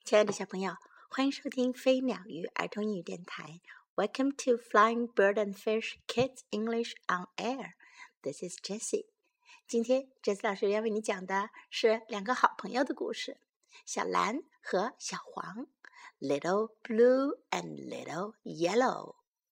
亲爱的小朋友，欢迎收听飞鸟鱼儿童英语电台。Welcome to Flying Bird and Fish Kids English on Air. This is Jessie. 今天 Jessie 老师要为你讲的是两个好朋友的故事，小蓝和小黄。Little blue and little yellow.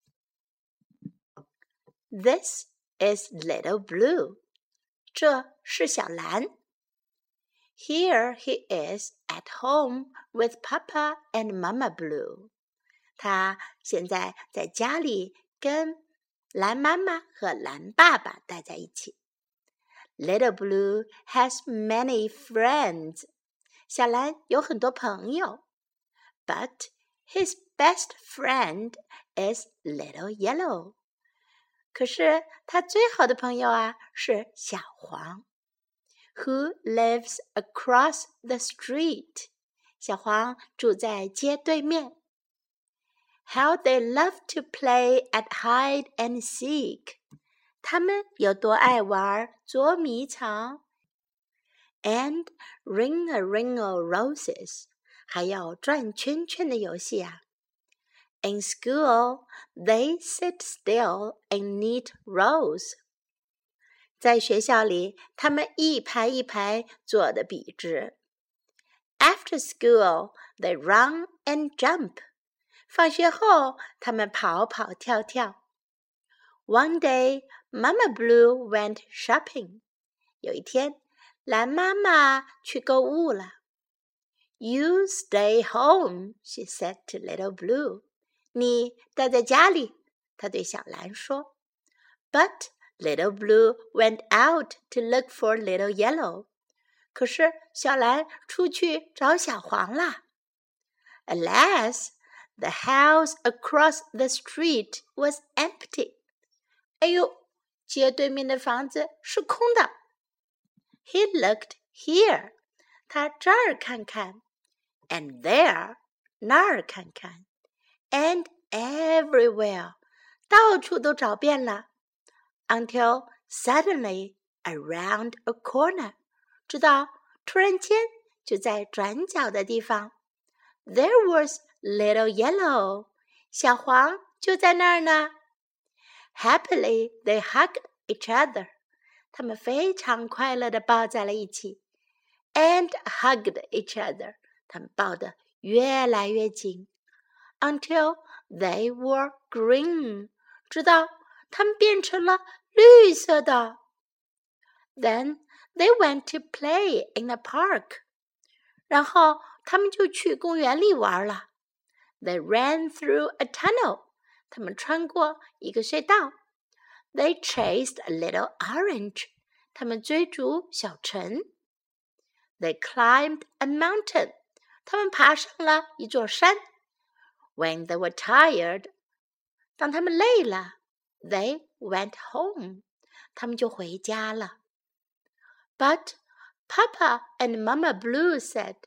This is little blue. 这是小蓝。Here he is at home with Papa and Mama Blue. 他现在在家里跟蓝妈妈和蓝爸爸待在一起。Little Blue has many friends. 小蓝有很多朋友。But his best friend is Little Yellow. 可是他最好的朋友啊，是小黄。Who lives across the street? 小黄住在街对面。How they love to play at hide and seek. 他们有多爱玩捉迷藏。And ring-a-ring-o roses. 还有转圈圈的游戏啊。In school, they sit still in neat rows. 在学校里，他们一排一排坐得笔直。After school, they run and jump. 放学后，他们跑跑跳跳。One day, Mama Blue went shopping. 有一天，蓝妈妈去购物了。You stay home, she said to Little Blue. 你待在家里，她对小蓝说。But Little Blue went out to look for Little Yellow. 可是小蓝出去找小黄啦。Alas, the house across the street was empty. 哎呦，街对面的房子是空的。He looked here. 他这儿看看。And there. 那儿看看。And everywhere. 到处都找遍了。Until suddenly, around a corner, 直到突然间就在转角的地方 There was Little Yellow, 小黄就在那儿呢。Happily, they hugged each other. 他们非常快乐地抱在了一起。And hugged each other. 他们抱得越来越紧。Until they were green, 直到他们变成了绿色的。Then they went to play in the park. 然后他们就去公园里玩了。They ran through a tunnel. 他们穿过一个隧道。They chased a little orange. 他们追逐小橙。They climbed a mountain. 他们爬上了一座山。When they were tired, 当他们累了They went home. 他们就回家了。But Papa and Mama Blue said,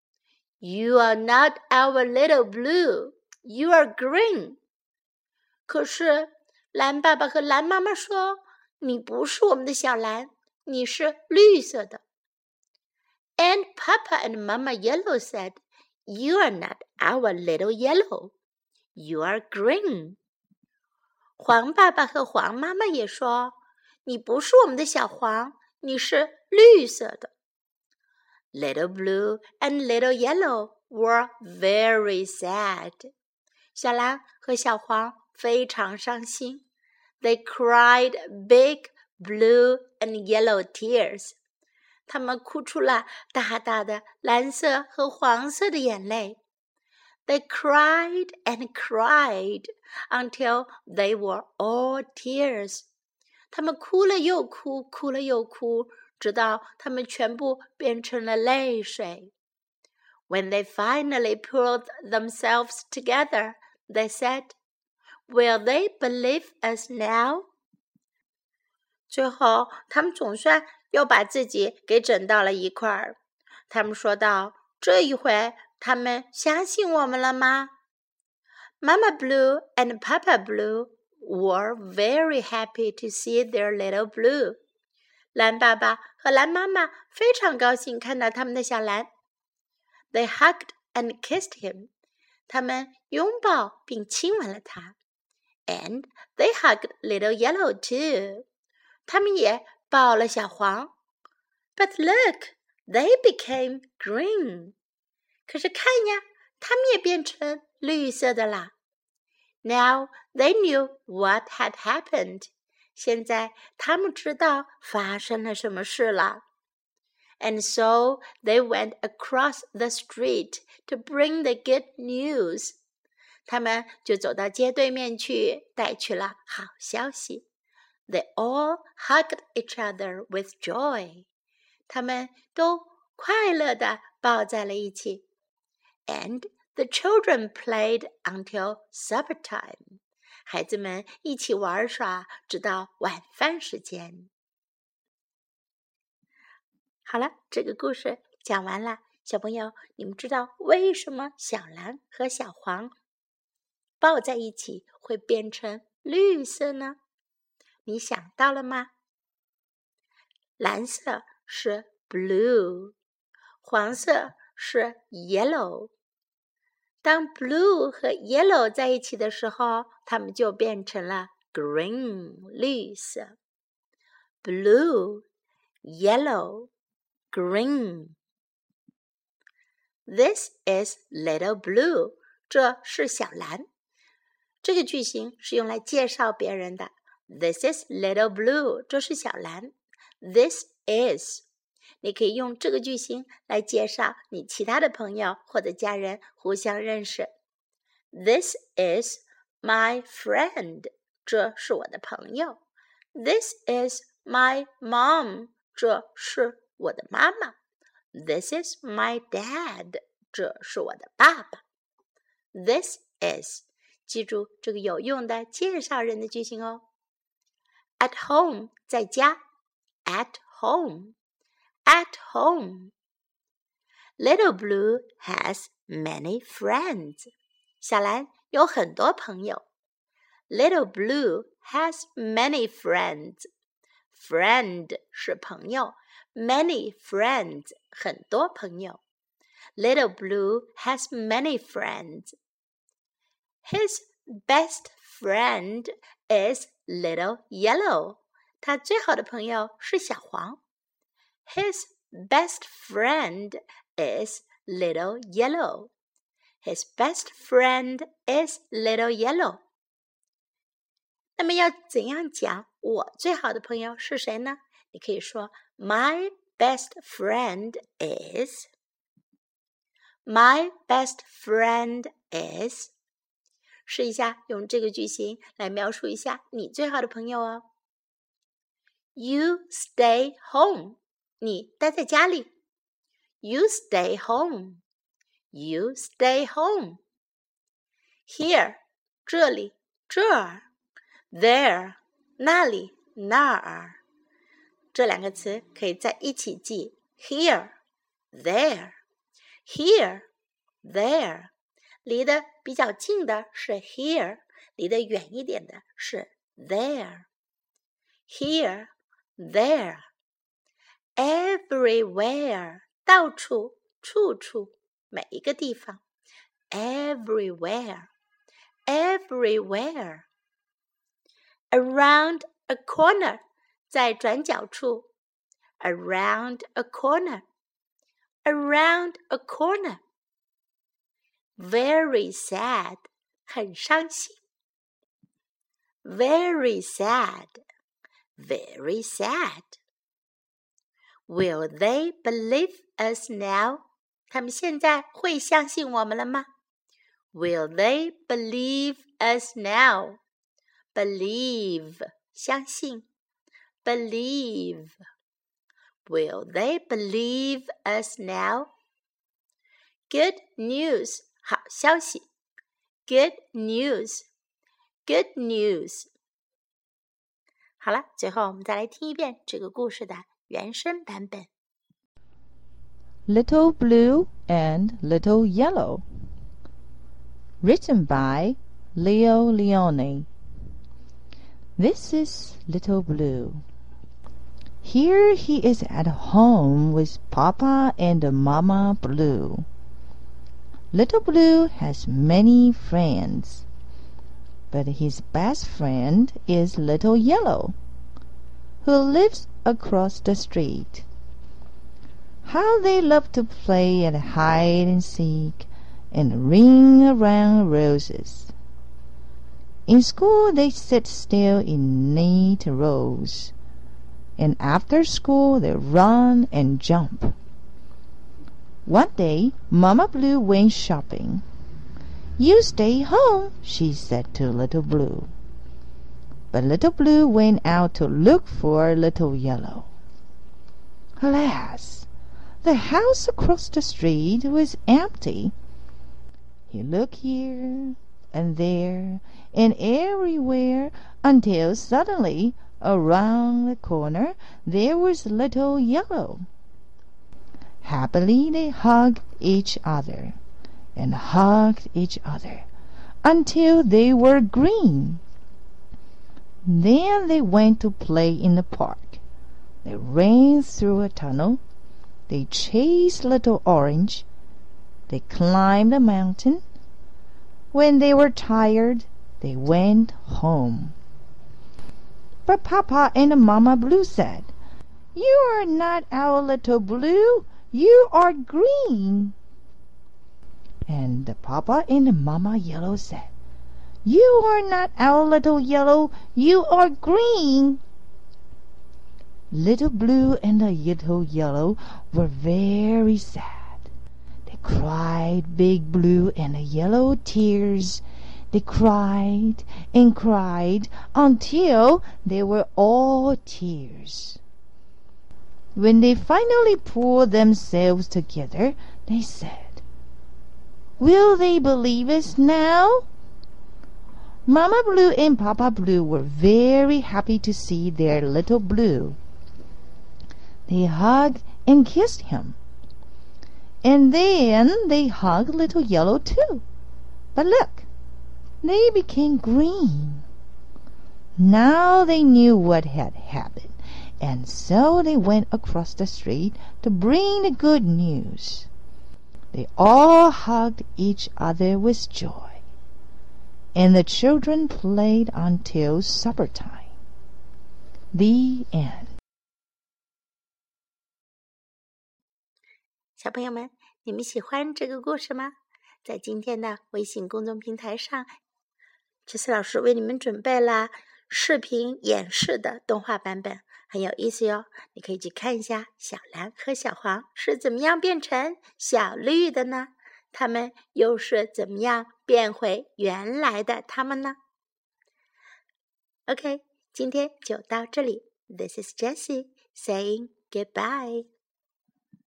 You are not our little blue. You are green. 可是蓝爸爸和蓝妈妈说，你不是我们的小蓝，你是绿色的。And Papa and Mama Yellow said, You are not our little yellow. You are green.黄爸爸和黄妈妈也说，你不是我们的小黄，你是绿色的。Little Blue and Little Yellow were very sad. 小蓝和小黄非常伤心。They cried big blue and yellow tears. 他们哭出了大大的蓝色和黄色的眼泪。They cried and cried until they were all tears. 他们哭了又哭，哭了又哭，直到他们全部变成了泪水。When they finally pulled themselves together, they said, Will they believe us now? 最后，他们总算又把自己给整到了一块儿。他们说道，这一回他们相信我们了吗？ Mama Blue and Papa Blue were very happy to see their little blue. 蓝爸爸和蓝妈妈非常高兴看到他们的小蓝。They hugged and kissed him. 他们拥抱并亲吻了他。And they hugged little yellow too. 他们也抱了小黄。But look, they became green. 可是看呀，他们也变成绿色的啦。Now they knew what had happened. 现在他们知道发生了什么事了。And so they went across the street to bring the good news. 他们就走到街对面去，带去了好消息。They all hugged each other with joy. 他们都快乐地抱在了一起。And the children played until supper time. 孩子们一起玩耍，直到晚饭时间。好了，这个故事讲完了。小朋友，你们知道为什么小蓝和小黄抱在一起会变成绿色呢？你想到了吗？蓝色是 blue， 黄色是 yellow。当 blue 和 yellow 在一起的时候，它们就变成了 green， 绿色。blue, yellow, green. This is little blue. 这是小蓝。这个句型是用来介绍别人的。This is little blue. 这是小蓝。This is. 你可以用这个句型来介绍你其他的朋友或者家人互相认识。This is my friend. 这是我的朋友。This is my mom. 这是我的妈妈。This is my dad. 这是我的爸爸。This is. 记住这个有用的介绍人的句型哦。At home. 在家。At home. At home. Little Blue has many friends. 小蓝有很多朋友。Little Blue has many friends. Friend 是朋友。Many friends 很多朋友。Little Blue has many friends. His best friend is Little Yellow. 他最好的朋友是小黄。His best friend is Little Yellow. His best friend is Little Yellow. 那么要怎样讲我最好的朋友是谁呢？你可以说 My best friend is. My best friend is. 试一下用这个句型来描述一下你最好的朋友哦。You stay home. 你待在家里。You stay home. You stay home. Here, 这里，这儿。There, 那里，那儿。这两个词可以在一起记。Here, there. Here, there. 离得比较近的是 here, 离得远一点的是 there. Here, there. Everywhere, 到处，处处，每一个地方。Everywhere, everywhere. Around a corner, 在转角处。Around a corner, around a corner. Very sad, 很伤心。Very sad, very sad. Will they believe us now? 他们现在会相信我们了吗？ Will they believe us now? Believe, 相信。Believe. Will they believe us now? Good news, 好消息。Good news, good news. 好了，最后我们再来听一遍这个故事的原声版本。 Little Blue and Little Yellow. Written by Leo Leone. This is Little Blue. Here he is at home with Papa and Mama Blue. Little Blue has many friends, but his best friend is Little Yellow, who lives across the street. How they love to play at hide and seek and ring around roses. In school they sit still in neat rows, and after school they run and jump. One day Mama Blue went shopping. "You stay home," she said to Little Blue. But Little Blue went out to look for Little Yellow. Alas! The house across the street was empty. He looked here and there and everywhere until suddenly, around the corner, there was Little Yellow. Happily they hugged each other and hugged each other until they were green. Then they went to play in the park. They ran through a tunnel. They chased Little Orange. They climbed a mountain. When they were tired, they went home. But Papa and Mama Blue said, "You are not our Little Blue. You are green." And Papa and Mama Yellow said, "You are not our Little Yellow. You are green." Little Blue and Little Yellow were very sad. They cried big blue and yellow tears. They cried and cried until they were all tears. When they finally pulled themselves together, they said, "Will they believe us now?" Mama Blue and Papa Blue were very happy to see their Little Blue. They hugged and kissed him. And then they hugged Little Yellow too. But look, they became green. Now they knew what had happened, and so they went across the street to bring the good news. They all hugged each other with joy, and the children played until supper time. The end. 小朋友们，你们喜欢这个故事吗？在今天的微信公众平台上，Jessie老师为你们准备了视频演示的动画版本，很有意思哟。你可以去看一下小蓝和小黄是怎么样变成小绿的呢？他们又是怎么样变回原来的他们呢？ OK， 今天就到这里。This is Jessie saying goodbye.